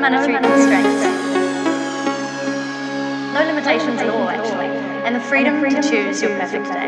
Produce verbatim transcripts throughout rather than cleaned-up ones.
monetary constraints. No limitations at all, actually. And the freedom to choose your perfect day.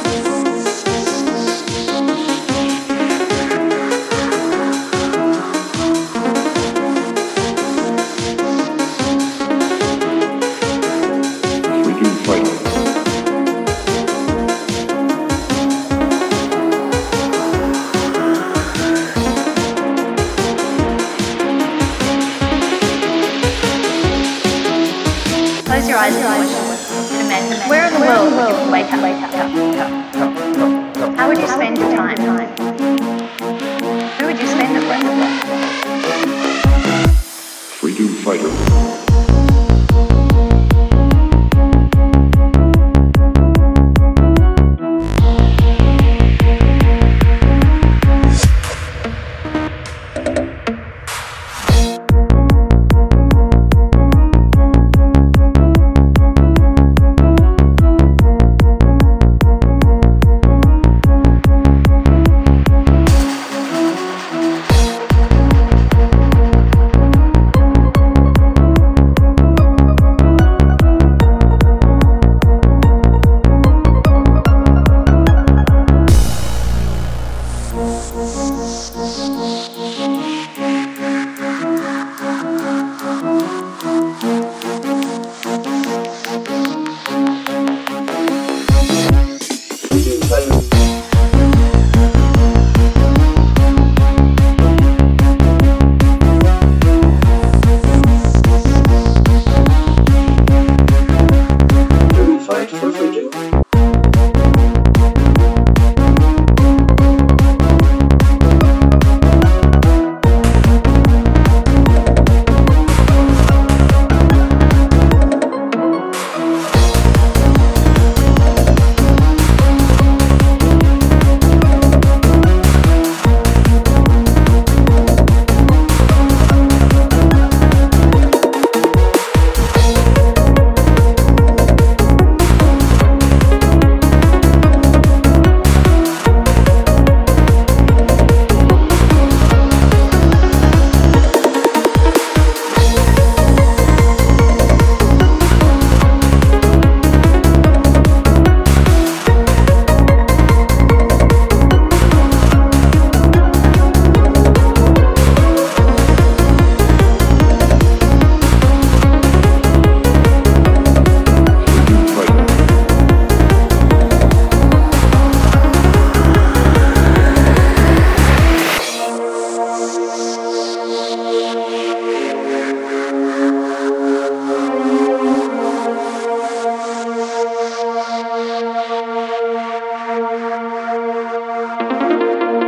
Close your eyes and imagine where in the world would you wake up? Wake up. How would you spend your time? Who would you spend it with? Freedom fighter.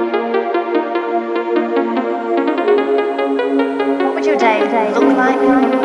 What would your day look like?